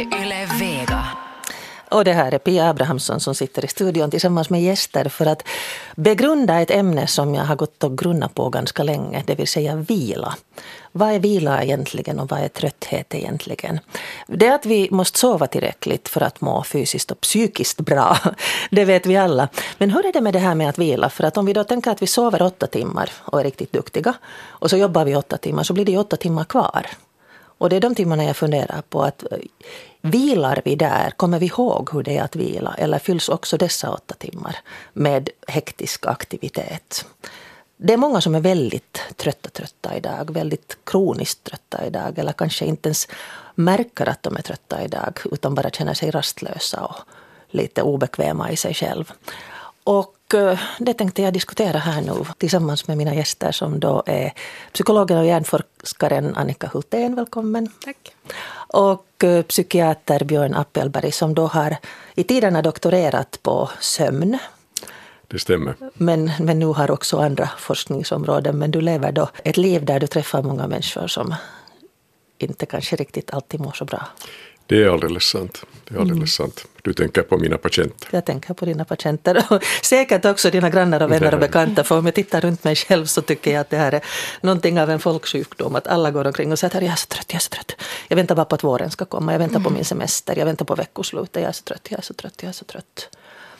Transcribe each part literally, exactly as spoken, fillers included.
är Yle Vega. Och det här är Pia Abrahamsson som sitter i studion tillsammans med gäster för att begrunda ett ämne som jag har gått och grunnat på ganska länge, det vill säga vila. Vad är vila egentligen och vad är trötthet egentligen? Det är att vi måste sova tillräckligt för att må fysiskt och psykiskt bra, det vet vi alla. Men hur är det med det här med att vila? För att om vi då tänker att vi sover åtta timmar och är riktigt duktiga och så jobbar vi åtta timmar så blir det åtta timmar kvar. Och det är de timmarna jag funderar på att vilar vi där, kommer vi ihåg hur det är att vila eller fylls också dessa åtta timmar med hektisk aktivitet? Det är många som är väldigt trötta trötta idag, väldigt kroniskt trötta idag eller kanske inte ens märker att de är trötta idag utan bara känner sig rastlösa och lite obekväma i sig själv. Och det tänkte jag diskutera här nu tillsammans med mina gäster som då är psykologen och hjärnforskaren Annika Hultén, välkommen. Tack. Och psykiater Björn Appelberg som då har i tiderna doktorerat på sömn. Det stämmer. Men, men nu har också andra forskningsområden. Men du lever då ett liv där du träffar många människor som inte kanske riktigt alltid mår så bra. Det är alldeles sant. Det är alldeles mm. sant. Du tänker på mina patienter. Jag tänker på dina patienter och säkert också dina grannar och vänner och bekanta. För om jag tittar runt mig själv så tycker jag att det här är någonting av en folksjukdom. Att alla går omkring och säger att jag är så trött, jag är så trött. Jag väntar bara på att våren ska komma. Jag väntar mm. på min semester. Jag väntar på veckoslutet. Jag är så trött, jag är så trött, jag är så trött.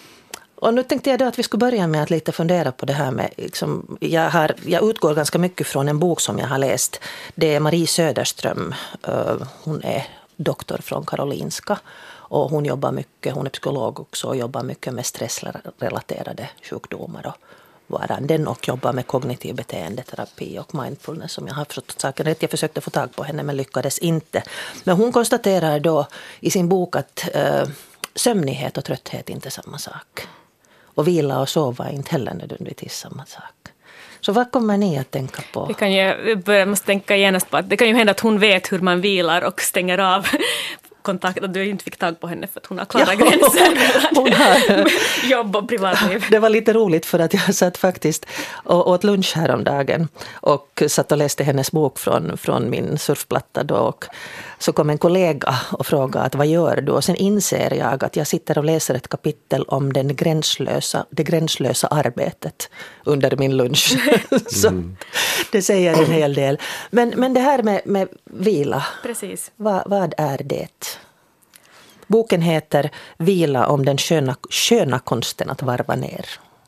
Och nu tänkte jag då att vi skulle börja med att lite fundera på det här med, liksom, jag, har, jag utgår ganska mycket från en bok som jag har läst. Det är Marie Söderström, uh, hon är doktor från Karolinska och hon jobbar mycket, hon är psykolog också och jobbar mycket med stressrelaterade sjukdomar och varanden och jobbar med kognitiv beteendeterapi och mindfulness som jag har förstått saken rätt. Jag försökte få tag på henne men lyckades inte. Men hon konstaterar då i sin bok att uh, sömnighet och trötthet är inte samma sak. Och vila och sova är inte heller nödvändigtvis samma sak. Så vad kommer ni att tänka på? Vi kan ju börja måste tänka genast på att det kan ju hända att hon vet hur man vilar och stänger av kontakt. Att du inte fick tag på henne för att hon har klara ja, gränser hon har. jobb och privatliv. Det var lite roligt för att jag satt faktiskt och åt lunch häromdagen och satt och läste hennes bok från, från min surfplatta då och så kom en kollega och frågade att vad gör du? Och sen inser jag att jag sitter och läser ett kapitel om den gränslösa, det gränslösa arbetet under min lunch. Så mm. det säger en hel del. Men, men det här med, med vila, precis. Vad, vad är det? Boken heter Vila om den sköna, sköna konsten att varva ner.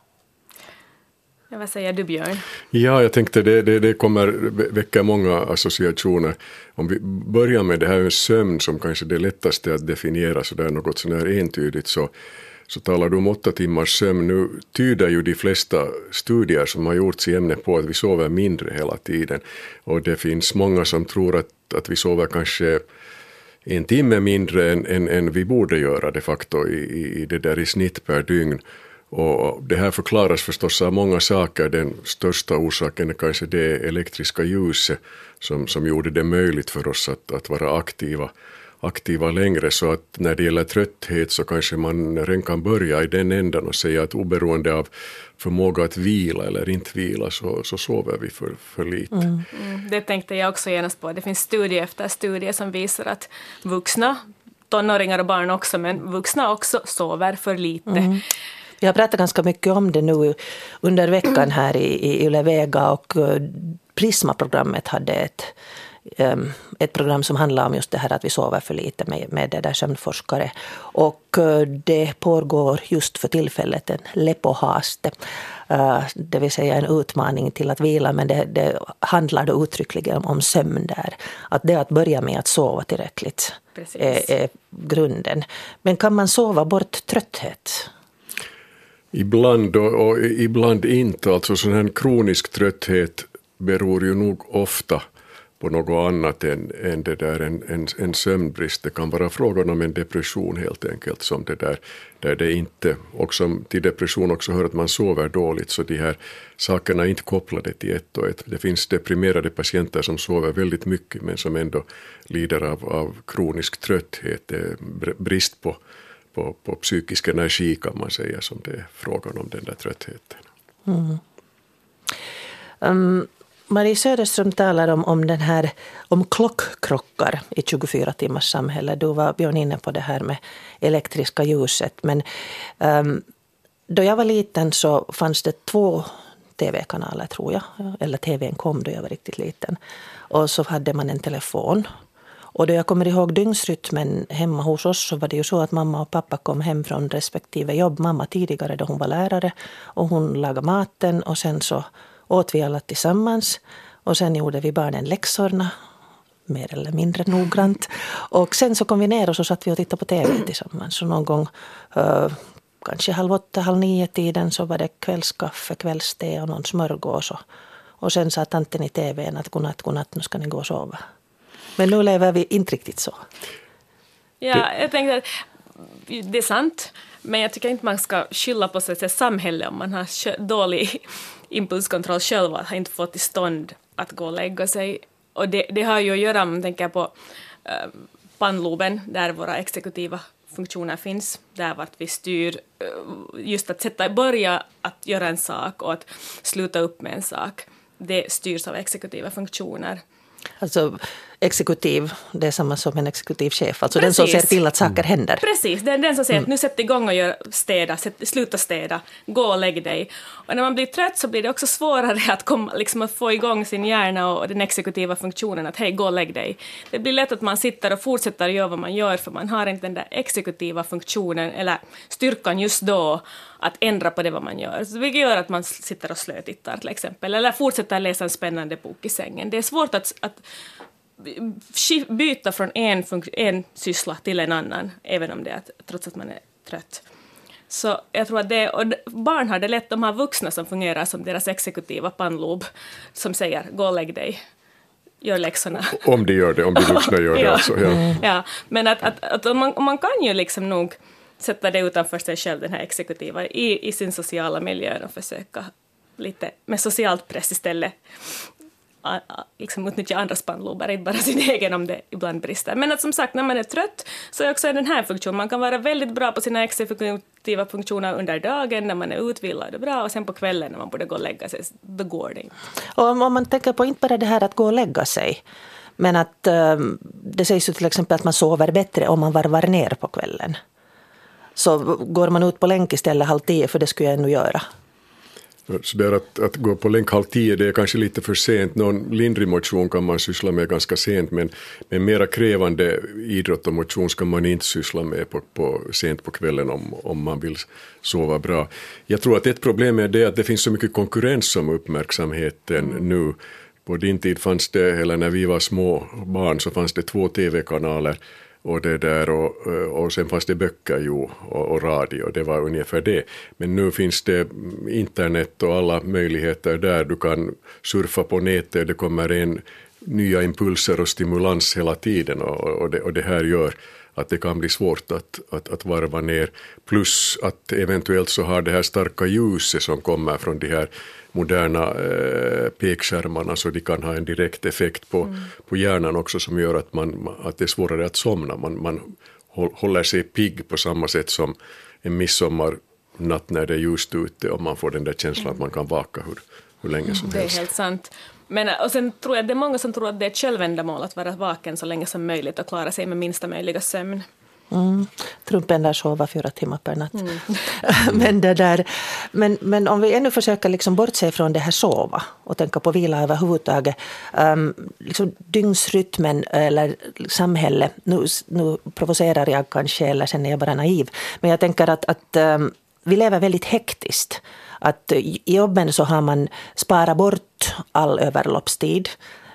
Ja, vad säger du, Björn? Ja, jag tänkte det, det, det kommer väcka många associationer. Om vi börjar med det här med sömn som kanske det lättaste att definiera så där något sån här entydigt så, så talar du om åtta timmars sömn. Nu tyder ju de flesta studier som har gjorts i ämnet på att vi sover mindre hela tiden. Och det finns många som tror att, att vi sover kanske en timme mindre än, än, än vi borde göra de facto i, i, i det där i snitt per dygn. Och det här förklaras förstås av många saker. Den största orsaken är kanske det elektriska ljuset som, som gjorde det möjligt för oss att, att vara aktiva, aktiva längre. Så att när det gäller trötthet så kanske man redan kan börja i den ändan och säga att oberoende av förmåga att vila eller inte vila så, så sover vi för, för lite. Mm. Mm, det tänkte jag också genast på. Det finns studie efter studie som visar att vuxna, tonåringar och barn också, men vuxna också sover för lite. Mm. Vi har pratat ganska mycket om det nu under veckan här i, i Yle Vega och Prisma-programmet hade ett, um, ett program som handlar om just det här att vi sover för lite med, med det där sömnforskare. Och uh, det pågår just för tillfället en lepohaste, uh, det vill säga en utmaning till att vila, men det, det handlar då uttryckligen om, om sömn där. Att det att börja med att sova tillräckligt är, är grunden. Men kan man sova bort trötthet? Ibland och, och ibland inte. Alltså sån här kronisk trötthet beror ju nog ofta på något annat än, än det där en, en, en sömnbrist. Det kan vara frågan om en depression helt enkelt som det där, där det inte, och som till depression också hör att man sover dåligt, så de här sakerna är inte kopplade till ett och ett. Det finns deprimerade patienter som sover väldigt mycket men som ändå lider av, av kronisk trötthet, brist på På, på psykisk energi kan man säga som det är frågan om den där tröttheten. Mm. Um, Marie Söderström talar om, om, den här, om klockkrockar i tjugofyra timmars samhälle. Du var Björn inne på det här med elektriska ljuset. Men um, då jag var liten så fanns det två tv-kanaler tror jag. Eller tvn kom då jag var riktigt liten. Och så hade man en telefon. Och då jag kommer ihåg dygnsrytmen hemma hos oss så var det ju så att mamma och pappa kom hem från respektive jobb. Mamma tidigare då hon var lärare och hon lagade maten och sen så åt vi alla tillsammans. Och sen gjorde vi barnen läxorna mer eller mindre noggrant. Och sen så kom vi ner och så satt vi och tittade på tv tillsammans. Så någon gång uh, kanske halv åtta, halv nio tiden så var det kvällskaffe, kvällste och någon smörgås. Och, och sen sa tanten i tvn att godnatt, godnatt, nu ska ni gå och sova. Men nu lever vi inte riktigt så. Ja, jag tänkte att det är sant. Men jag tycker inte man ska skylla på sig samhället om man har dålig impulskontroll själv och har inte fått till stånd att gå och lägga sig. Och det, det har ju att göra, om man tänker på äh, pannloben där våra exekutiva funktioner finns. Där vart vi styr äh, just att sätta börja att göra en sak och att sluta upp med en sak. Det styrs av exekutiva funktioner. Alltså exekutiv, det är samma som en exekutiv chef. Alltså Precis. Den som ser till att saker händer. Precis, det är den som säger mm. att nu sätt igång och gör städa, sätt, sluta städa, gå och lägg dig. Och när man blir trött så blir det också svårare att, komma, liksom att få igång sin hjärna och den exekutiva funktionen att hej, gå och lägg dig. Det blir lätt att man sitter och fortsätter göra vad man gör för man har inte den där exekutiva funktionen eller styrkan just då att ändra på det vad man gör. Så vilket gör att man sitter och slötittar till exempel eller fortsätter läsa en spännande bok i sängen. Det är svårt att, att byta från en, en syssla till en annan, även om det är att, trots att man är trött. Så jag tror att det, och barn har det lätt, de har vuxna som fungerar som deras exekutiva pannlob som säger, gå och lägg dig, gör läxorna. Om de gör det, om de vuxna gör det ja. alltså. Ja, mm. ja men att, att, att man, man kan ju liksom nog sätta det utanför sig själv, den här exekutiva, i, i sin sociala miljö och försöka lite med socialt press istället liksom utnyttja andra spannlobar, inte bara sin egen om det ibland brister. Men att som sagt, när man är trött så är också den här funktionen. Man kan vara väldigt bra på sina exekutiva funktioner under dagen när man är utvilad och bra och sen på kvällen när man borde gå och lägga sig, då går det inte. Och om man tänker på inte bara det här att gå och lägga sig, men att um, det sägs ju till exempel att man sover bättre om man varvar ner på kvällen. Så går man ut på länk istället halv tio, för det skulle jag ännu göra. Så där att, att gå på länk halv tio, det är kanske lite för sent. Någon lindrig motion kan man syssla med ganska sent, men, men mera krävande idrott och motion ska man inte syssla med på, på, sent på kvällen om, om man vill sova bra. Jag tror att ett problem är det att det finns så mycket konkurrens om uppmärksamheten nu. På din tid fanns det, eller när vi var små barn, så fanns det två tv-kanaler. Och, det där och, och sen fanns det böcker ju, och, och radio, det var ungefär det. Men nu finns det internet och alla möjligheter där. Du kan surfa på nätet, det kommer in nya impulser och stimulans hela tiden. Och, och, det, och det här gör att det kan bli svårt att, att, att varva ner. Plus att eventuellt så har det här starka ljuset som kommer från de här moderna eh, pekskärmarna, så de kan ha en direkt effekt på, mm. på hjärnan också, som gör att, man, att det är svårare att somna. Man, man håller sig pigg på samma sätt som en midsommarnatt när det är ljust ute och man får den där känslan mm. att man kan vaka hur, hur länge som det helst. Det är helt sant. Men, och sen tror jag att det är många som tror att det är ett självändamål att vara vaken så länge som möjligt och klara sig med minsta möjliga sömn. Mm. Trumpen där sover fyra timmar per natt. Mm. men, det där, men, men om vi ännu försöker liksom bortse från det här sova och tänka på vila överhuvudtaget. Um, liksom dygnsrytmen eller samhälle, nu, nu provocerar jag kanske eller sen är jag bara naiv. Men jag tänker att, att um, vi lever väldigt hektiskt. Att i jobben så har man sparat bort all överloppstid.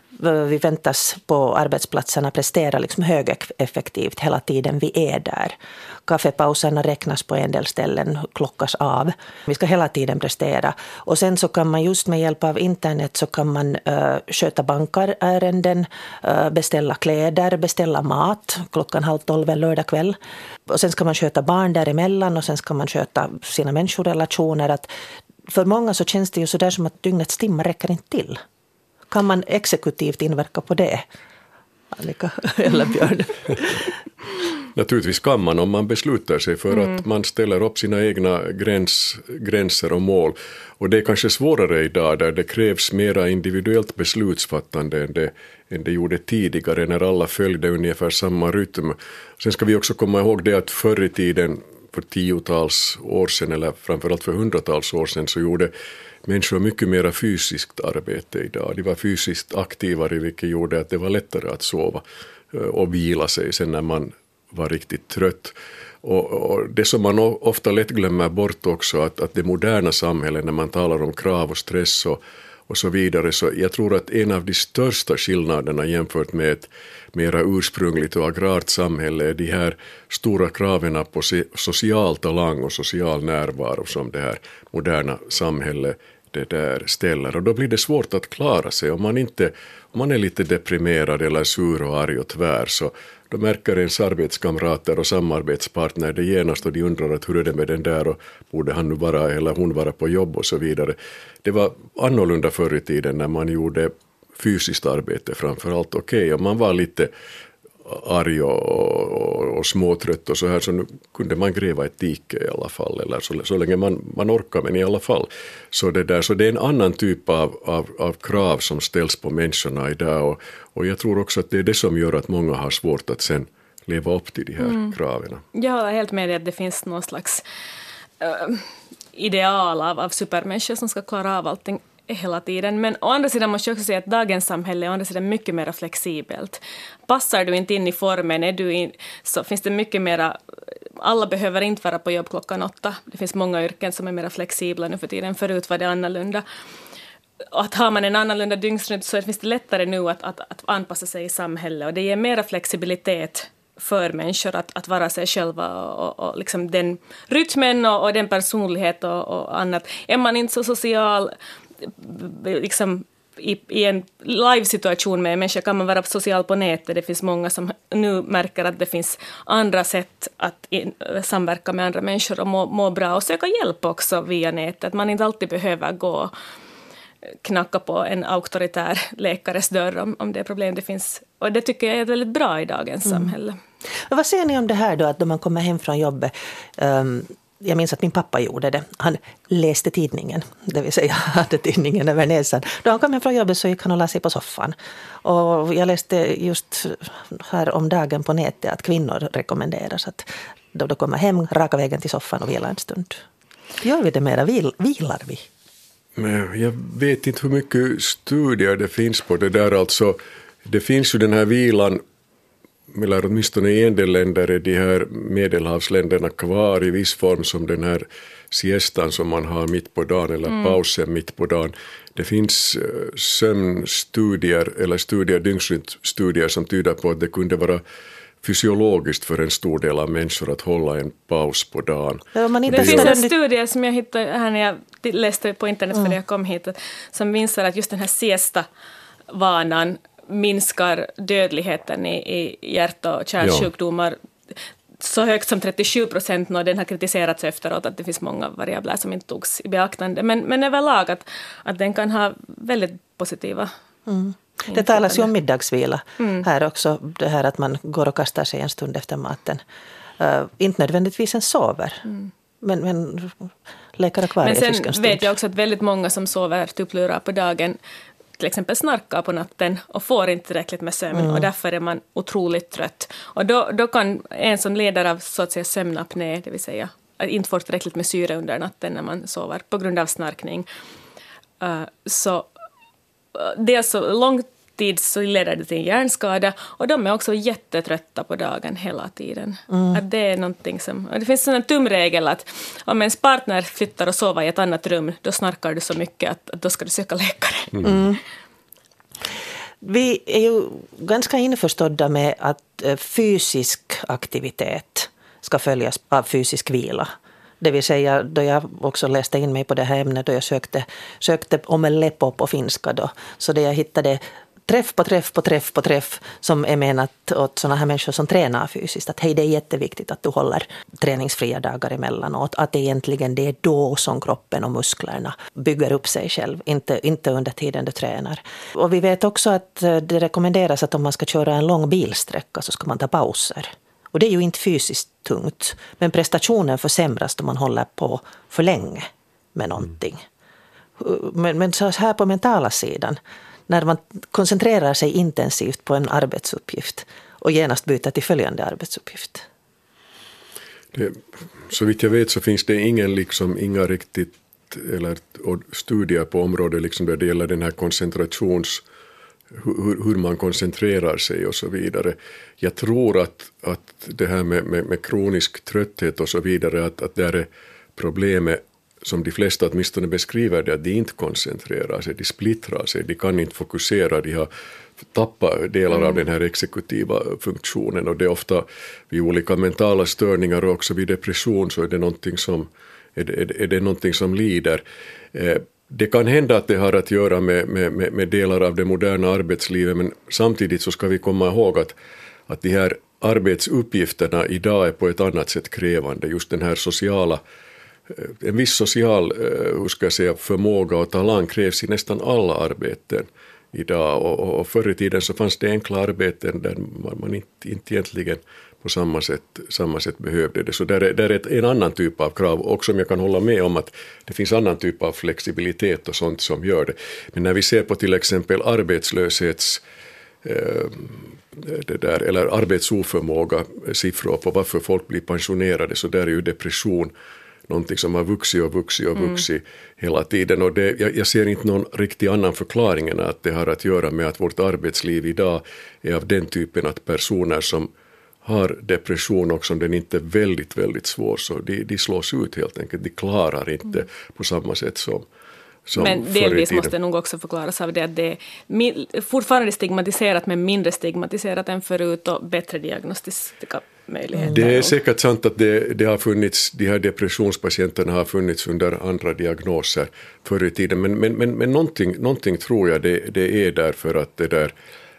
Vi väntas på arbetsplatserna prestera liksom högeffektivt hela tiden vi är där. Kaffepauserna räknas på en del ställen, klockas av. Vi ska hela tiden prestera. Och sen så kan man just med hjälp av internet så kan man uh, sköta bankarärenden, uh, beställa kläder, beställa mat klockan halv tolv en lördag kväll. Och sen ska man sköta barn däremellan och sen ska man sköta sina människorelationer. Att för många så känns det ju så där som att dygnets timmar räcker inte till. Kan man exekutivt inverka på det? Annika eller Björn? naturligtvis kan man om man beslutar sig för Mm. att man ställer upp sina egna gräns, gränser och mål. Och det är kanske svårare idag där det krävs mera individuellt beslutsfattande än det, än det gjorde tidigare när alla följde ungefär samma rytm. Sen ska vi också komma ihåg det att förr i tiden, för tiotals år sedan eller framförallt för hundratals år sedan, så gjorde människor mycket mera fysiskt arbete idag. De var fysiskt aktivare, vilket gjorde att det var lättare att sova och vila sig sen när man var riktigt trött. Och, och det som man ofta lätt glömmer bort också, att, att det moderna samhället, när man talar om krav och stress och, och så vidare, så jag tror att en av de största skillnaderna jämfört med ett mera ursprungligt och agrart samhälle är de här stora kraven på social talang och social närvaro som det här moderna samhället det där ställer. Och då blir det svårt att klara sig om man inte, om man är lite deprimerad eller sur och arg och tvär, så då märker ens arbetskamrater och samarbetspartner det genast och de undrar att hur är det med den där och borde han nu vara eller hon vara på jobb och så vidare. Det var annorlunda förr i tiden när man gjorde fysiskt arbete framförallt. Okej, okay, om man var lite arg och, och, och småtrött och så här, så nu kunde man gräva ett dike i alla fall, eller så, så länge man, man orkar, men i alla fall. Så det, där, så det är en annan typ av, av, av krav som ställs på människorna idag, och, och jag tror också att det är det som gör att många har svårt att sen leva upp till de här mm. kraven. Jag håller helt med dig att det finns någon slags uh, ideal av, av supermänniskor som ska klara av allting hela tiden. Men å andra sidan måste jag också säga att dagens samhälle är å andra sidan mycket mer flexibelt. Passar du inte in i formen, är du in, så finns det mycket mer. Alla behöver inte vara på jobb klockan åtta. Det finns många yrken som är mer flexibla nu för tiden. Förut var det annorlunda. Och att har man en annorlunda dygnsrytm så finns det lättare nu att, att, att anpassa sig i samhället. Och det ger mera flexibilitet för människor att, att vara sig själva och, och, och liksom den rytmen och, och den personlighet och, och annat. Är man inte så social liksom i, i en live-situation med människor kan man vara social på nätet. Det finns många som nu märker att det finns andra sätt att in, samverka med andra människor och må, må bra och söka hjälp också via nätet. Att man inte alltid behöver gå knacka på en auktoritär läkares dörr om, om det är problem det finns. Och det tycker jag är väldigt bra i dagens mm. samhälle. Och vad säger ni om det här då, att då man kommer hem från jobbet, um, jag minns att min pappa gjorde det. Han läste tidningen, det vill säga hade tidningen över näsan. Då han kom hem från jobbet så gick han och la sig på soffan. Och jag läste just här om dagen på nätet att kvinnor rekommenderas att då de kommer hem, raka vägen till soffan och vila en stund. Gör vi det mera? Vil, vilar vi? Men jag vet inte hur mycket studier det finns på det där. Alltså, det finns ju den här vilan, eller åtminstone i en del länder är de här medelhavsländerna kvar i viss form som den här siestan som man har mitt på dagen eller mm. pausen mitt på dagen. Det finns sömnstudier eller studier, dygnsrytmstudier som tyder på att det kunde vara fysiologiskt för en stor del av människor att hålla en paus på dagen. Ja, man det finns en studie som jag hittade här när jag läste på internet för mm. jag kom hit som visar att just den här siesta-vanan minskar dödligheten i, i hjärt- och kärlsjukdomar ja. så högt som trettiosju procent, och den har kritiserats efteråt att det finns många variabler som inte togs i beaktande. Men, men överlag att, att den kan ha väldigt positiva mm. Det talas ju om middagsvila mm. här också, det här att man går och kastar sig en stund efter maten. Uh, inte nödvändigtvis en sover, mm. men, men läkare kvar men i sen en stund. Vet jag också att väldigt många som sover tupplurar på dagen till exempel snarkar på natten och får inte tillräckligt med sömn mm. och därför är man otroligt trött. Och då, då kan en som leder av så att säga sömnapné, det vill säga att inte få tillräckligt med syre under natten när man sover på grund av snarkning. Uh, så det är så lång tid så leder det till en hjärnskada och de är också jättetrötta på dagen hela tiden. Mm. Att det är någonting som, och det finns en tumregel att om ens partner flyttar och sover i ett annat rum, då snarkar du så mycket att, att då ska du söka läkare. Mm. Mm. Vi är ju ganska införstådda med att fysisk aktivitet ska följas av fysisk vila. Det vill säga, då jag också läste in mig på det här ämnet, då jag sökte, sökte om en lepo på finska då, så det jag hittade träff på träff på träff på träff som är menat åt sådana här människor som tränar fysiskt. Att hej, det är jätteviktigt att du håller träningsfria dagar emellanåt. Att egentligen det är då som kroppen och musklerna bygger upp sig själv. Inte, inte under tiden du tränar. Och vi vet också att det rekommenderas att om man ska köra en lång bilsträcka så ska man ta pauser. Och det är ju inte fysiskt tungt. Men prestationen försämras då man håller på för länge med någonting. Mm. Men, men så här på mentala sidan, när man koncentrerar sig intensivt på en arbetsuppgift och genast byter till följande arbetsuppgift. Det, så vitt jag vet så finns det ingen liksom, inga riktigt eller studier på området liksom där det gäller den här koncentrations, hur, hur man koncentrerar sig och så vidare. Jag tror att, att det här med, med, med kronisk trötthet och så vidare, att, att det är problemet som de flesta åtminstone beskriver det, att de inte koncentrerar sig, de splittrar sig, de kan inte fokusera, de har tappat delar mm. av den här exekutiva funktionen, och det är ofta vid olika mentala störningar och också vid depression så är det någonting som, är det, är det någonting som lider. Eh, det kan hända att det har att göra med, med, med, med delar av det moderna arbetslivet, men samtidigt så ska vi komma ihåg att, att de här arbetsuppgifterna idag är på ett annat sätt krävande, just den här sociala en viss social hur ska jag säga, förmåga och talang krävs i nästan alla arbeten idag, och, och, och förr i tiden så fanns det enkla arbeten där man inte, inte egentligen på samma sätt, samma sätt behövde det. Så där är, där är ett, en annan typ av krav, och som jag kan hålla med om att det finns annan typ av flexibilitet och sånt som gör det. Men när vi ser på till exempel arbetslöshets eh, det där, eller arbetsoförmåga siffror på varför folk blir pensionerade, så där är ju depression någonting som har vuxit och vuxit och vuxit mm. hela tiden. Och det, jag, jag ser inte någon riktig annan förklaring än att det har att göra med att vårt arbetsliv idag är av den typen att personer som har depression och som den inte är väldigt, väldigt svår, så de, de slås ut helt enkelt. De klarar inte mm. på samma sätt som Som men delvis måste nog också förklaras av det att det är fortfarande stigmatiserat, men mindre stigmatiserat än förut och bättre diagnostiska möjligheter. Det är säkert sant att det, det har funnits, de här depressionspatienterna har funnits under andra diagnoser förr i tiden, men, men, men, men någonting, någonting tror jag det, det är därför att det där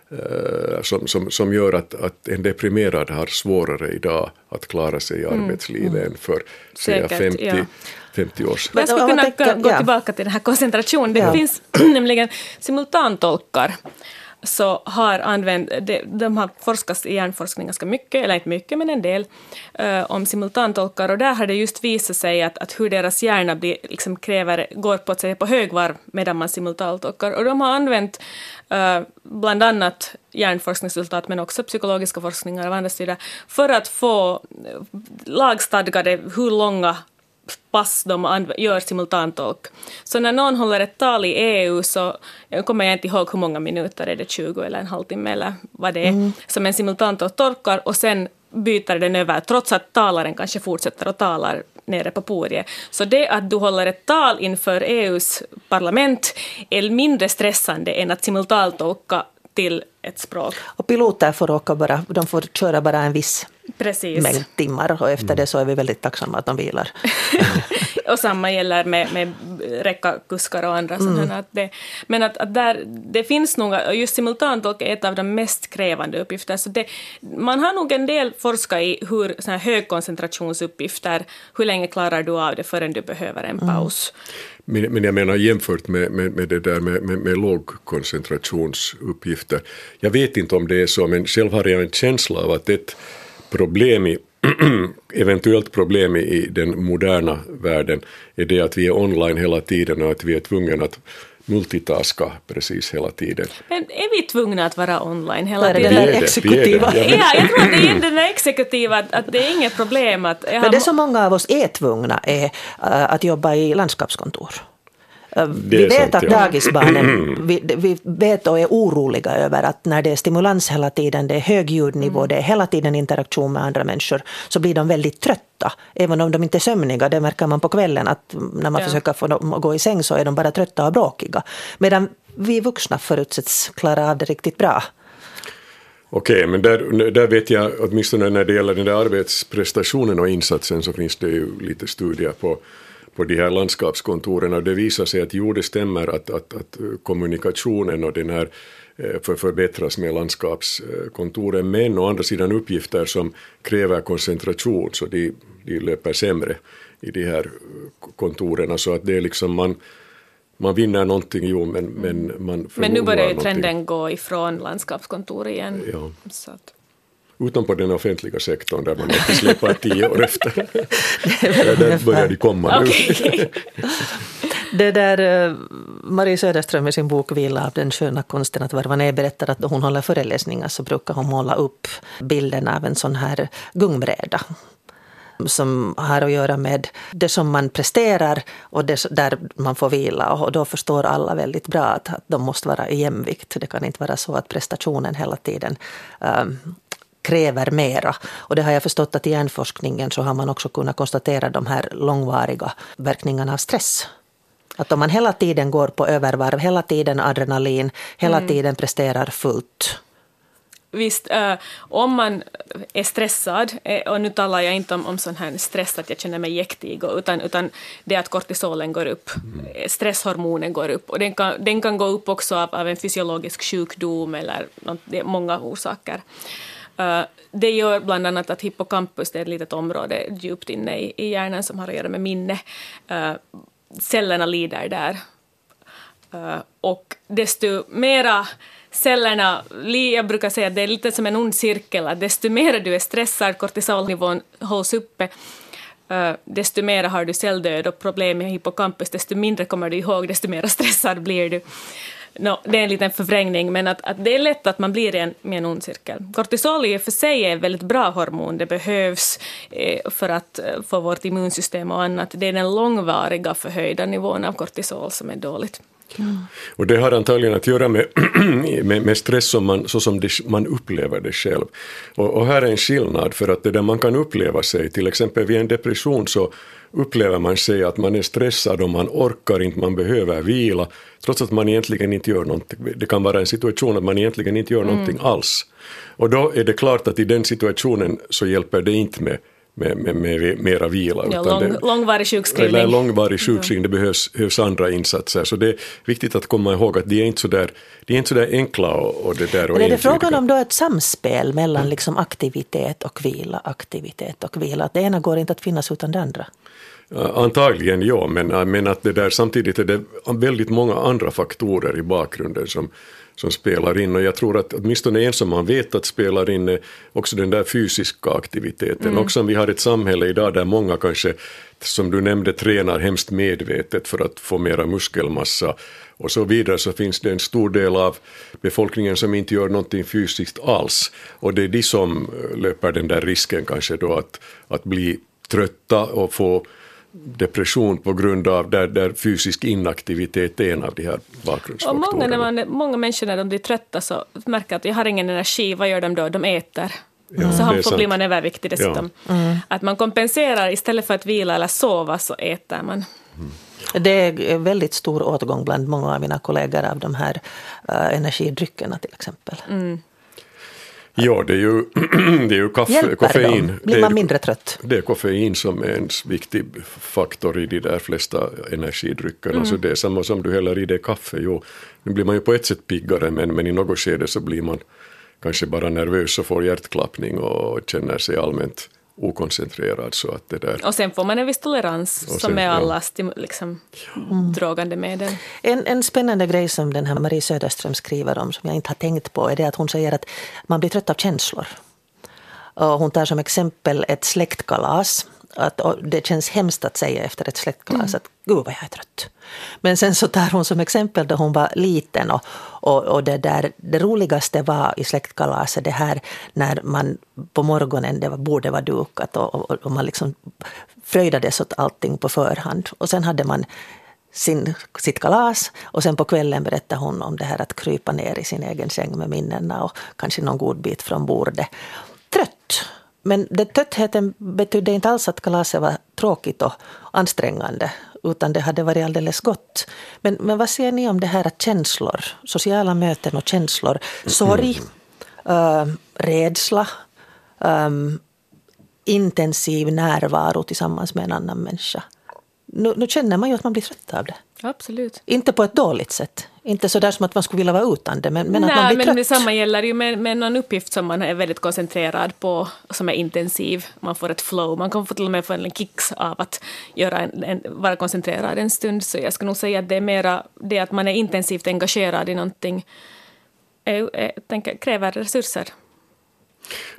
uh, som, som, som gör att, att en deprimerad har svårare idag att klara sig i mm. arbetslivet mm. än för säga femtio ja. femtio år sedan. Jag skulle kunna tänka, gå ja. tillbaka till den här koncentrationen. Det ja. finns nämligen simultantolkar så har använt, de, de har forskat i hjärnforskning ganska mycket, eller inte mycket men en del, uh, om simultantolkar, och där har det just visat sig att, att hur deras hjärna blir, liksom kräver, går på, att säga, på högvarv medan man simultantolkar, och de har använt uh, bland annat hjärnforskningsresultat men också psykologiska forskningar av andra sidor för att få lagstadgade hur långa pass de gör simultantolk. Så när någon håller ett tal i E U så jag kommer jag inte ihåg hur många minuter, är det tjugo eller en halvtimme eller vad det är, mm. som en simultantolk tolkar, och sen byter den över trots att talaren kanske fortsätter och talar nere på podiet. Så det att du håller ett tal inför E U:s parlament är mindre stressande än att simultantolka till ett språk. Och piloter får åka bara, de får köra bara en viss Precis. mängd timmar, och efter mm. det så är vi väldigt tacksamma att de vilar. Och samma gäller med, med räckakuskar och andra. Mm. Att det, men att, att där, det finns nog, just simultantolk är ett av de mest krävande uppgifter. Så det, man har nog en del forskat i hur såna här högkoncentrationsuppgifter, hur länge klarar du av det förrän du behöver en paus. Mm. Men, men jag menar jämfört med, med, med det där med, med, med lågkoncentrationsuppgifter. Jag vet inte om det är så, men själv har jag en känsla av att ett problem i eventuellt problem i den moderna världen är det att vi är online hela tiden och att vi är tvungna att multitaska precis hela tiden. Men är vi tvungna att vara online hela tiden? Det är det exekutiva. Ja, ja, jag tror att det är den där exekutiva, att, att det är inget problem. Att Men det som många av oss är tvungna är uh, att jobba i landskapskontor. Vi vet sant, att ja. dagisbarnen, vi, vi vet och är oroliga över att när det är stimulans hela tiden, det är hög ljudnivå, mm. det är hela tiden interaktion med andra människor, så blir de väldigt trötta. Även om de inte är sömniga, det märker man på kvällen, att när man ja. försöker få dem att gå i säng så är de bara trötta och bråkiga. Medan vi vuxna förutsätts klara av det riktigt bra. Okej, okay, men där, där vet jag, åtminstone när det gäller den där arbetsprestationen och insatsen, så finns det ju lite studier på på de här landskapskontoren, och det visar sig att jo, det stämmer att, att, att kommunikationen och den här för förbättras med landskapskontoren, men å andra sidan uppgifter som kräver koncentration, så de, de löper sämre i de här kontoren, så att det är liksom man, man vinner någonting, jo, men, men man Men nu börjar ju trenden gå ifrån landskapskontor igen. Ja. Så att utom på den offentliga sektorn där man inte släpper tio år efter. Där börjar de komma nu. Okay. Det där, Marie Söderström i sin bok Vila av den sköna konsten att varva ner berättar att då hon håller föreläsningar så brukar hon måla upp bilden av en sån här gungbräda som har att göra med det som man presterar och det där man får vila. Och då förstår alla väldigt bra att de måste vara i jämvikt. Det kan inte vara så att prestationen hela tiden um, kräver mera. Och det har jag förstått att i hjärnforskningen så har man också kunnat konstatera de här långvariga verkningarna av stress. Att om man hela tiden går på övervarv, hela tiden adrenalin, hela mm. tiden presterar fullt. Visst, äh, om man är stressad, äh, och nu talar jag inte om, om sån här stress att jag känner mig jäktig, utan, utan det att kortisolen går upp, mm. stresshormonen går upp. Och den kan, den kan gå upp också av, av en fysiologisk sjukdom eller något, det är många orsaker. Uh, det gör bland annat att hippocampus, det är ett litet område djupt inne i, i hjärnan som har att göra med minne. Uh, cellerna lider där. Uh, och desto mera cellerna, jag brukar säga att det är lite som en ond cirkel, att desto mer du är stressad, kortisolnivån hålls uppe, uh, desto mer har du celldöd och problem med hippocampus, desto mindre kommer du ihåg, desto mer stressad blir du. No, det är en liten förvrängning, men att, att det är lätt att man blir en, med en ond cirkel. Kortisol i för sig är ett väldigt bra hormon. Det behövs eh, för att eh, få vårt immunsystem och annat. Det är den långvariga förhöjda nivån av kortisol som är dåligt. Mm. Och det har antagligen att göra med, med, med stress som man, så som det, man upplever det själv. Och, och här är en skillnad, för att det där man kan uppleva sig, till exempel vid en depression så upplever man sig att man är stressad och man orkar inte, man behöver vila, trots att man egentligen inte gör någonting. Det kan vara en situation att man egentligen inte gör någonting mm. alls. Och då är det klart att i den situationen så hjälper det inte med Med, med, med mera vila. Ja, lång, det, långvarig sjukskrivning. Eller långvarig sjukskrivning, det behövs, behövs andra insatser. Så det är viktigt att komma ihåg att de är inte så där, de är inte så där enkla och, och det där. Och men är det frågan om då ett samspel mellan liksom aktivitet och vila, aktivitet och vila? Att det ena går inte att finnas utan det andra? Antagligen ja, men, men att det där, samtidigt är det väldigt många andra faktorer i bakgrunden som som spelar in, och jag tror att åtminstone en som man vet att spelar in är också den där fysiska aktiviteten. Mm. Också om vi har ett samhälle idag där många kanske, som du nämnde, tränar hemskt medvetet för att få mera muskelmassa och så vidare, så finns det en stor del av befolkningen som inte gör någonting fysiskt alls, och det är de som löper den där risken kanske då att, att bli trötta och få depression på grund av där, där fysisk inaktivitet är en av de här bakgrundsfaktorerna. Och många, när man, många människor när de blir trötta så märker att jag har ingen energi, vad gör de då? De äter. Mm. Så han får bli man överviktig dessutom. Ja. Mm. Att man kompenserar istället för att vila eller sova så äter man. Mm. Det är väldigt stor åtgång bland många av mina kollegor av de här uh, energidryckerna till exempel. Mm. Ja, det är ju, det är ju kaffe, koffein. Dem? Blir man mindre trött? Det är koffein som är en viktig faktor i de där flesta energidryckerna. Mm. Så det är samma som du häller i det kaffe. Jo, nu blir man ju på ett sätt piggare, men, men i något skede så blir man kanske bara nervös och får hjärtklappning och känner sig allmänt okoncentrerad. Så att det där. Och sen får man en viss tolerans och som sen, är alla ja. liksom, mm. drogande medel. En, en spännande grej som den här Marie Söderström skriver om som jag inte har tänkt på är det att hon säger att man blir trött av känslor. Och hon tar som exempel ett släktkalas. Att, det känns hemskt att säga efter ett släktkalas mm. att gud vad jag är trött. Men sen så tar hon som exempel då hon var liten och, och, och det, där, det roligaste var i släktkalaset det här när man på morgonen det var, borde vara dukat och, och, och man liksom fröjdades åt allting på förhand. Och sen hade man sin, sitt kalas och sen på kvällen berättade hon om det här att krypa ner i sin egen säng med minnena och kanske någon god bit från bordet. Trött. Men den tröttheten betydde inte alls att kalaset var tråkigt och ansträngande, utan det hade varit alldeles gott. Men, men vad säger ni om det här att känslor, sociala möten och känslor, sorg, äh, rädsla, äh, intensiv närvaro tillsammans med en annan människa? Nu, nu känner man ju att man blir trött av det. Absolut. Inte på ett dåligt sätt. Inte så där som att man skulle vilja vara utan det, men, men Nej, att man blir men trött. Nej, men detsamma gäller ju med, med någon uppgift som man är väldigt koncentrerad på, som är intensiv. Man får ett flow. Man kan få till och med få en kicks av att göra en, en, vara koncentrerad en stund. Så jag ska nog säga att det är mera det att man är intensivt engagerad i någonting är, är, tänker, kräver resurser.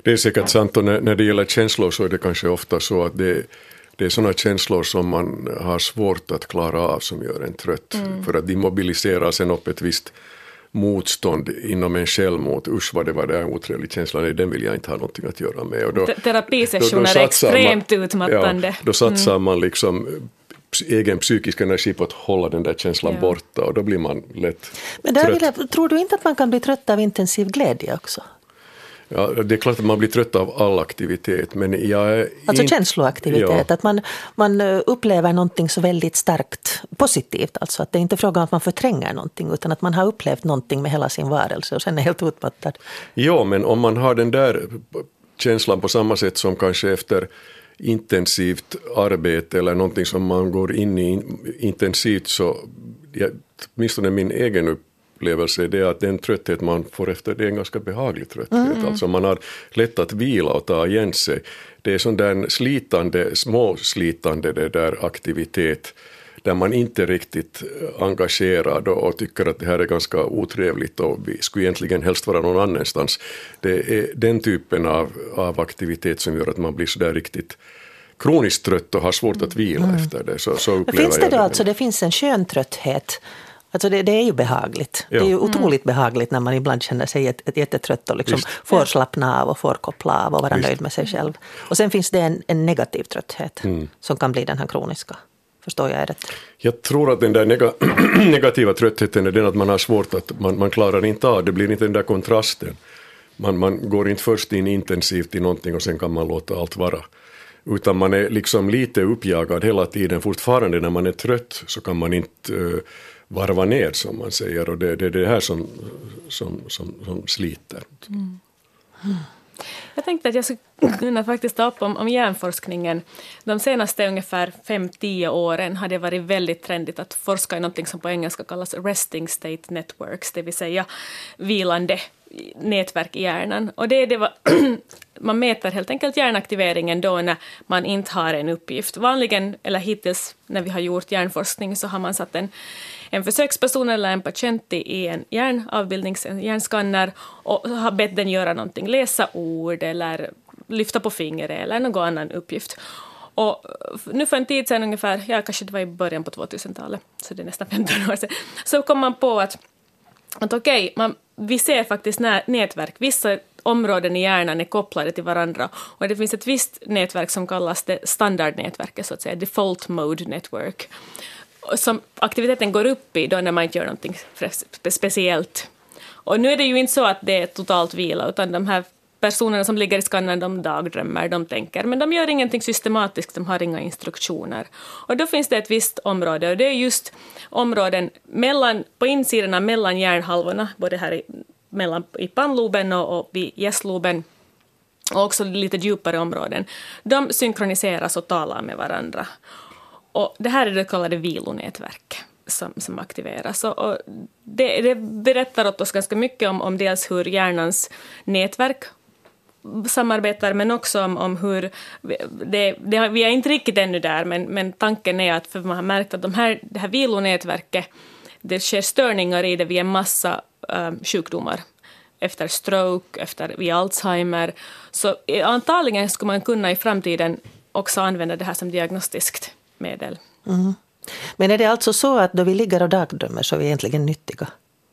det är säkert sant, och när, när det gäller känslor så är det kanske ofta så att det, det är sådana känslor som man har svårt att klara av som gör en trött. Mm. För att de mobiliserar sen upp ett visst motstånd inom en själv mot usch vad det var där otrevlig känsla, nej, den vill jag inte ha någonting att göra med. Och då, terapisessioner är extremt man, utmattande. Ja, då satsar mm. man liksom egen psykisk energi på att hålla den där känslan ja. borta, och då blir man lätt Men där trött. Vill jag, tror du inte att man kan bli trött av intensiv glädje också? Ja, det är klart att man blir trött av all aktivitet. Men jag är alltså in... känsloaktivitet, ja. att man, man upplever någonting så väldigt starkt positivt. Alltså att det är inte frågan om att man förtränger någonting, utan att man har upplevt någonting med hela sin varelse och sen är helt utmattad. Ja, men om man har den där känslan på samma sätt som kanske efter intensivt arbete eller någonting som man går in i intensivt, så ja, åtminstone min egen upplevelse är det att den trötthet man får efter det är en ganska behaglig trötthet. Mm. Alltså man har lätt att vila och ta igen sig. Det är sån där slitande, småslitande det där aktivitet där man inte är riktigt engagerad och, och tycker att det här är ganska otrevligt och vi skulle egentligen helst vara någon annanstans. Det är den typen av, av aktivitet som gör att man blir så där riktigt kroniskt trött och har svårt att vila mm. efter det. Så, så upplever finns det jag då det. alltså, det finns en skön trötthet. Alltså det, det är ju behagligt. Ja. Det är ju otroligt mm. behagligt när man ibland känner sig ett, ett jättetrött och liksom får slappna av och får koppla av och vara Visst. nöjd med sig själv. Och sen finns det en, en negativ trötthet mm. som kan bli den här kroniska. Förstår jag rätt? Jag tror att den där neg- negativa tröttheten är den att man har svårt att man, man klarar inte av. Det blir inte den där kontrasten. Man, man går inte först in intensivt i någonting och sen kan man låta allt vara. Utan man är liksom lite uppjagad hela tiden. Fortfarande när man är trött så kan man inte uh, varva ner som man säger. Och det, det är det här som, som, som, som sliter. Mm. Mm. Jag tänkte att jag skulle kunna faktiskt ta upp om, om hjärnforskningen. De senaste ungefär fem till tio åren har det varit väldigt trendigt att forska i något som på engelska kallas resting state networks, det vill säga vilande nätverk i hjärnan. Och det är det var, man mäter helt enkelt hjärnaktiveringen då när man inte har en uppgift. Vanligen, eller hittills när vi har gjort hjärnforskning, så har man satt en, en försöksperson eller en patient i en hjärnavbildning, en hjärnskanner, och har bett den göra någonting, läsa ord eller lyfta på fingret eller någon annan uppgift. Och nu för en tid sedan ungefär, ja kanske det var i början på tvåtusentalet, så det är nästan femton år sedan, så kom man på att, att okej, okay, man, vi ser faktiskt nä- nätverk, vissa områden i hjärnan är kopplade till varandra, och det finns ett visst nätverk som kallas det standardnätverket, så att säga, default mode network, som aktiviteten går upp i då när man inte gör någonting speciellt. Och nu är det ju inte så att det är totalt vila, utan de här personerna som ligger i skannern, de dagdrömmer, de tänker, men de gör ingenting systematiskt, de har inga instruktioner. Och då finns det ett visst område, och det är just områden mellan, på insidorna mellan hjärnhalvorna, både här i, mellan, i pannloben och, och vid gästloben, och också lite djupare områden. De synkroniseras och talar med varandra. Och det här är det kallade vilonätverk som, som aktiveras. Och, och det, det berättar åt oss ganska mycket om, om dels hur hjärnans nätverk samarbetar, men också om, om hur, det, det, vi är inte riktigt ännu där, men, men tanken är att, för man har märkt att de här, det här vilonätverket, det sker störningar i det vid en massa um, sjukdomar. Efter stroke, efter vid Alzheimer. Så antagligen skulle man kunna i framtiden också använda det här som diagnostiskt medel. Mm. Men är det alltså så att då vi ligger och dagdrömmer så är vi egentligen nyttiga?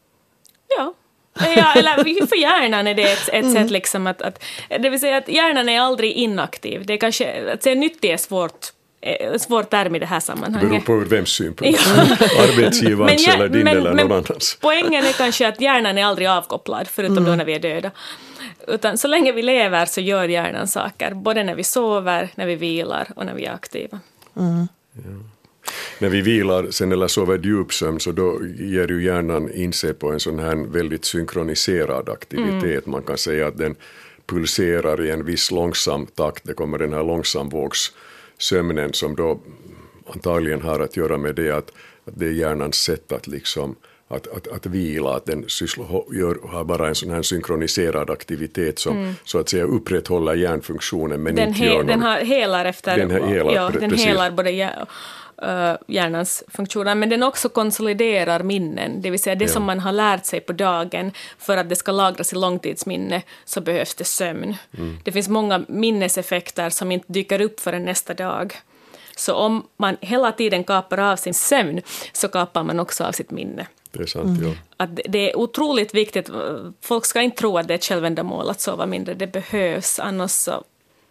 Ja. Ja, eller för hjärnan är det ett, ett mm. sätt liksom att, att, det vill säga att hjärnan är aldrig inaktiv. Det är kanske, att säga nyttig är svårt, svårt term i det här sammanhanget. Beror på vems synpunkt. Ja. Arbetsgivarens ja, eller din men, eller någon annans. Poängen är kanske att hjärnan är aldrig avkopplad, förutom mm. då när vi är döda. Utan så länge vi lever så gör hjärnan saker, både när vi sover, när vi vilar och när vi är aktiva. Mm. Ja. När vi vilar sen eller sover djupsömn, så då ger ju hjärnan in sig på en sån här väldigt synkroniserad aktivitet. Mm. Man kan säga att den pulserar i en viss långsam takt. Det kommer den här långsamvågssömnen som då antagligen har att göra med det att, att det är hjärnans sätt att liksom Att, att, att vila, att den sysslar, gör, har bara en sån här synkroniserad aktivitet som mm. så att säga upprätthåller hjärnfunktionen, men den inte he, gör någon... Den har helar efter... Den, helar, ja, den helar både uh, hjärnans funktioner, men den också konsoliderar minnen, det vill säga det ja. som man har lärt sig på dagen, för att det ska lagras i långtidsminne så behövs det sömn. Mm. Det finns många minneseffekter som inte dyker upp förrän nästa dag. Så om man hela tiden kapar av sin sömn så kapar man också av sitt minne. Det är sant, ja. Att det är otroligt viktigt. Folk ska inte tro att det är ett självändamål att sova mindre. Det behövs, annars så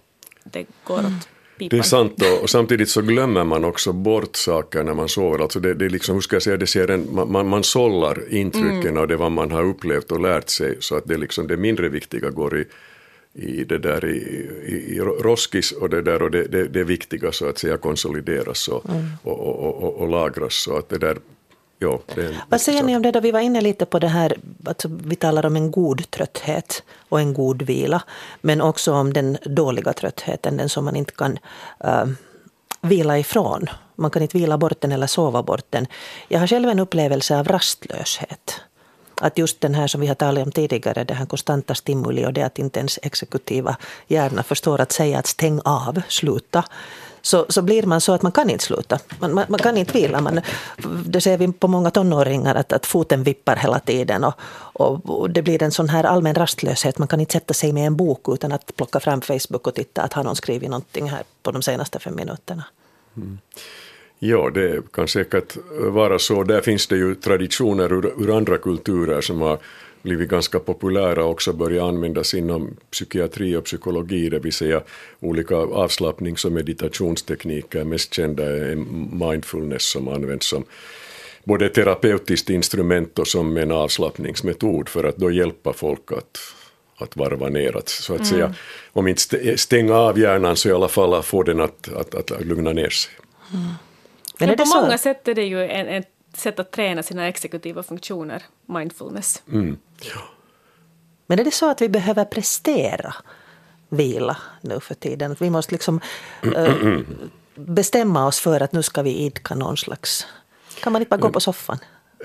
det går åt pipan. Det är sant, och, och samtidigt så glömmer man också bort saker när man sover. Alltså det, det är liksom, hur ska jag säga, det ser en, man, man sållar intrycken mm. av det vad man har upplevt och lärt sig, så att det, liksom, det mindre viktiga går i i det där i, i, i roskis, och det där och det, det, det viktiga så att säga konsolideras och, mm. och, och, och, och lagras, så att det där, ja, det är. Vad säger ni om det då? Vi var inne lite på det här, alltså vi talar om en god trötthet och en god vila, men också om den dåliga tröttheten, den som man inte kan uh, vila ifrån. Man kan inte vila bort den eller sova bort den. Jag har själv en upplevelse av rastlöshet. Att just den här som vi har talat om tidigare, det här konstanta stimuli och det att inte ens exekutiva hjärna förstår att säga att stäng av, sluta. Så, så blir man så att man kan inte sluta. Man, man, man kan inte vila. Man, det ser vi på många tonåringar att, att foten vippar hela tiden och, och, och det blir en sån här allmän rastlöshet. Man kan inte sätta sig med en bok utan att plocka fram Facebook och titta att har någon skrivit någonting här på de senaste fem minuterna. Mm. Ja, det kan säkert vara så. Där finns det ju traditioner ur, ur andra kulturer som har blivit ganska populära och också börjat användas inom psykiatri och psykologi, det vill säga olika avslappnings- och meditationstekniker. Mest kända är mindfulness som används som både terapeutiskt instrument och som en avslappningsmetod för att då hjälpa folk att, att varva ner. Att, så att mm. säga, om inte stänga av hjärnan så i alla fall få den att, att, att lugna ner sig. Mm. Men, Men på så? många sätt är det ju en, ett sätt att träna sina exekutiva funktioner, mindfulness. Mm. Ja. Men är det så att vi behöver prestera vila nu för tiden? Att vi måste liksom äh, bestämma oss för att nu ska vi idka någon slags... Kan man inte bara gå på soffan?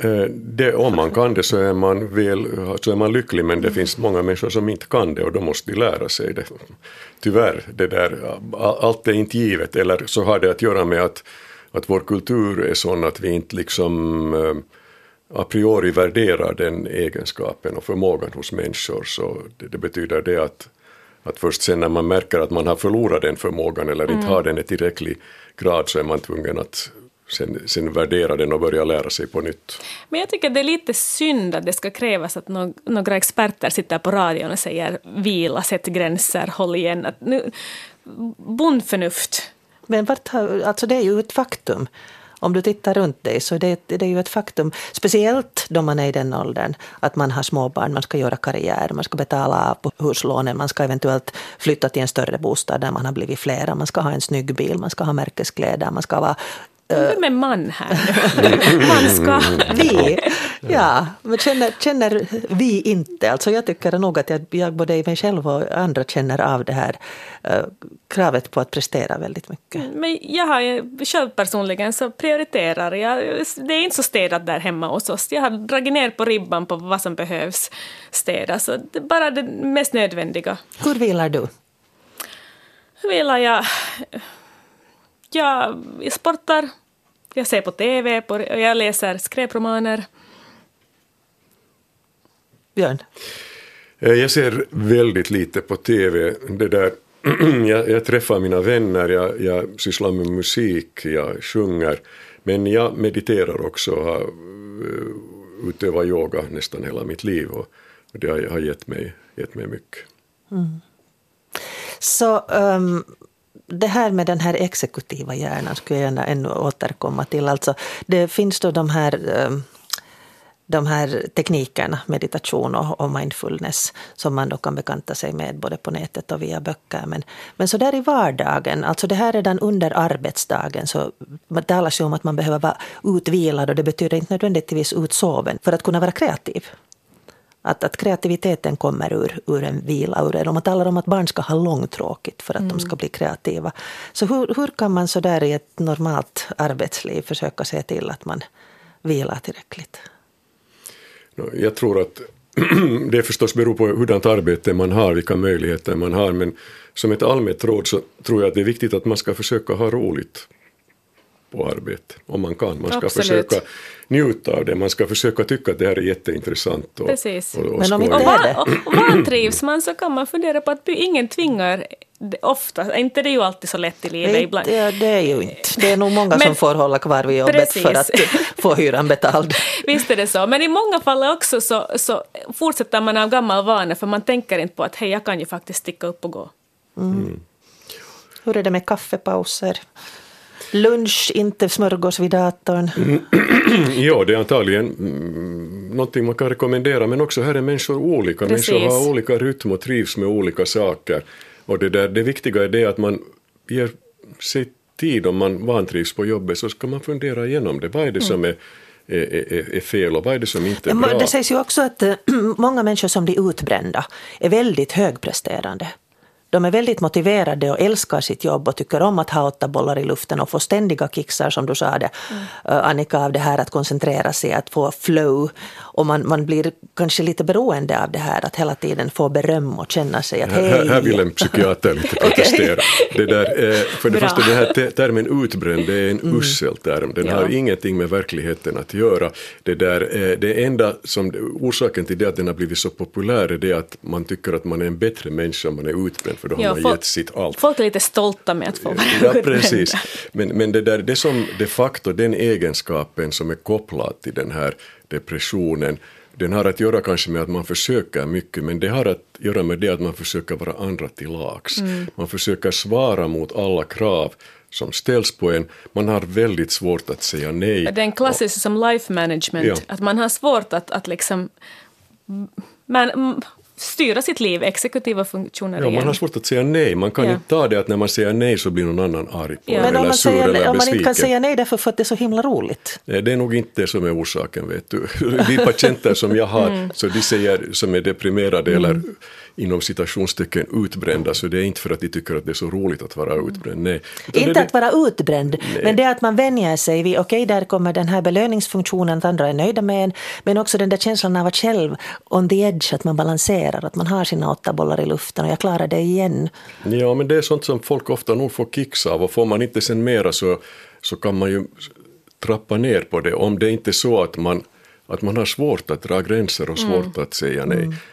Det, om man kan det så är man, väl, så är man lycklig, men det mm. finns många människor som inte kan det och då måste de lära sig det. Tyvärr, det där, allt är inte givet, eller så har det att göra med att, att vår kultur är sån att vi inte liksom a priori värderar den egenskapen och förmågan hos människor, så det, det betyder det att, att först sen när man märker att man har förlorat den förmågan eller inte mm. har den i tillräcklig grad så är man tvungen att Sen, sen värdera den och börja lära sig på nytt. Men jag tycker det är lite synd att det ska krävas att no- några experter sitter på radion och säger vila, sätt gränser, håll igen. Att nu, bondförnuft. Men vart, alltså det är ju ett faktum. Om du tittar runt dig så det, det är ju ett faktum. Speciellt då man är i den åldern att man har småbarn, man ska göra karriär, man ska betala av på huslånen, man ska eventuellt flytta till en större bostad där man har blivit flera, man ska ha en snygg bil, man ska ha märkeskläder, man ska vara... Vem är man här nu? Man ska... Vi, ja, men känner, känner vi inte. Alltså jag tycker nog att jag, jag både i mig själv och andra känner av det här uh, kravet på att prestera väldigt mycket. Men jag har själv personligen så prioriterar jag. Det är inte så städat där hemma hos oss. Jag har dragit ner på ribban på vad som behövs städas. Så det är bara det mest nödvändiga. Hur vilar du? Hur vilar jag? Jag sportar. Jag ser på tv på, och jag läser skräpromaner. Björn? Jag ser väldigt lite på tv. Det där, jag, jag träffar mina vänner, jag, jag sysslar med musik, jag sjunger. Men jag mediterar också och har utövat yoga nästan hela mitt liv. Och det har, har gett, mig, gett mig mycket. Mm. Så... Um... Det här med den här exekutiva hjärnan skulle jag gärna ännu återkomma till. Alltså, det finns då de här, de här teknikerna, meditation och mindfulness, som man då kan bekanta sig med både på nätet och via böcker. Men, men så där i vardagen, alltså det här redan under arbetsdagen, så man talar sig om att man behöver vara utvilad, och det betyder inte nödvändigtvis utsoven för att kunna vara kreativ. Att, att kreativiteten kommer ur, ur en vila. Ur, om man talar om att barn ska ha långtråkigt för att mm. de ska bli kreativa. Så hur, hur kan man så där i ett normalt arbetsliv försöka se till att man vilar tillräckligt? Jag tror att det förstås beror på hurdant arbete man har, vilka möjligheter man har. Men som ett allmänt råd så tror jag att det är viktigt att man ska försöka ha roligt. på arbete. Om man kan. Man ska Absolut. försöka njuta av det. Man ska försöka tycka att det här är jätteintressant. Och, Precis. och, och Men om skoj. inte Och, är van, det. och vantrivs man så kan man fundera på att ingen tvingar det- ofta. Inte det är ju alltid så lätt i livet Nej, ibland. det, det är ju inte. Det är nog många Men- som får hålla kvar vid jobbet Precis. för att få hyran betald. Visst är det så. Men i många fall också så, så fortsätter man av gammal vana för man tänker inte på att hej, jag kan ju faktiskt sticka upp och gå. Hur är det med kaffepauser? Lunch, inte smörgås vid datorn. Ja, det är antagligen mm, någonting man kan rekommendera, men också här är människor olika. Precis. Människor har olika rytm och trivs med olika saker. Och det, där, det viktiga är det att man ger sig tid om man vantrivs på jobbet, så ska man fundera igenom det. Vad är det som är, är, är, är fel och vad är det som inte är bra? Det sägs ju också att eh, många människor som blir utbrända är väldigt högpresterande. De är väldigt motiverade och älskar sitt jobb och tycker om att ha åtta bollar i luften och få ständiga kicksar, som du sa det, mm. Annika, av det här att koncentrera sig, att få flow. Och man, man blir kanske lite beroende av det här, att hela tiden få beröm och känna sig att hej. Här, här vill en psykiater lite protestera. Det där, eh, för det Bra. första, den här te- termen utbränd, det är en mm. usel term. Den Ja. har ingenting med verkligheten att göra. Det, där, eh, det enda som, orsaken till det att den har blivit så populär är det att man tycker att man är en bättre människa om man är utbränd, för då har Ja, man folk- gett sitt allt. Folk är lite stolta med att få vara Ja, utbrända. precis. Men, men det, där, det som de facto, den egenskapen som är kopplad till den här depressionen, den har att göra kanske med att man försöker mycket, men det har att göra med det att man försöker vara andra till lags. Mm. Man försöker svara mot alla krav som ställs på en. Man har väldigt svårt att säga nej. Det är en klassisk som life management, Ja. att man har svårt att, att liksom man, mm, styra sitt liv, exekutiva funktioner Ja, igen. man har svårt att säga nej. Man kan Ja. inte ta det att när man säger nej så blir någon annan arg på Ja. en Men om eller man, sur säger, eller om man inte kan besviken. säga nej därför för att det är så himla roligt. Nej, det är nog inte det som är orsaken, vet du. De patienter som jag har, Mm. så de säger som är deprimerade eller inom citationstecken utbrända, så det är inte för att de tycker att det är så roligt att vara utbränd. Nej. Utan Inte det, att vara utbränd, men det att man vänjer sig vid, okej, där kommer den här belöningsfunktionen, att andra är nöjda med en, men också den där känslan av att själv on the edge, att man balanserar, att man har sina åtta bollar i luften och jag klarar det igen. Ja, men det är sånt som folk ofta nog får kicks av, och får man inte sen mera så, så kan man ju trappa ner på det, om det är inte så att man, att man har svårt att dra gränser och svårt att säga nej. Mm.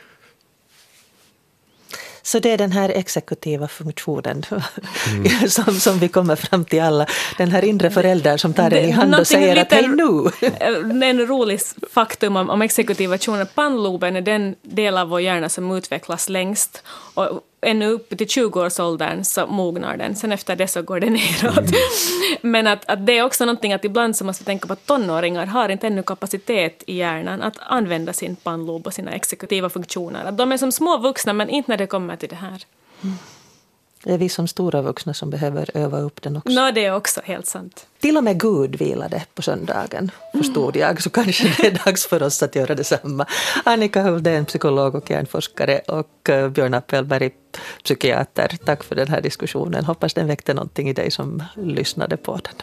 Så det är den här exekutiva funktionen mm. som, som vi kommer fram till alla. Den här inre föräldern som tar den i hand och Någonting säger att lite- hej nu. En rolig faktum om, om exekutiva funktioner. Pannloben är den del av vår hjärna som utvecklas längst. Och ännu upp till tjugo-årsåldern så mognar den. Sen efter det så går det neråt. Mm. Men att, att det är också någonting att ibland så måste vi tänka på att tonåringar har inte ännu kapacitet i hjärnan att använda sin pannlob och sina exekutiva funktioner. Att de är som små vuxna, men inte när det kommer till det här. Mm. Det är vi som stora vuxna som behöver öva upp den också. Nå, det är också helt sant. Till och med Gud vilade på söndagen, förstod jag, så kanske det är dags för oss att göra detsamma. Annika Huldén, psykolog och hjärnforskare, och Björn Appelberg, psykiater. Tack för den här diskussionen. Hoppas den väckte någonting i dig som lyssnade på den.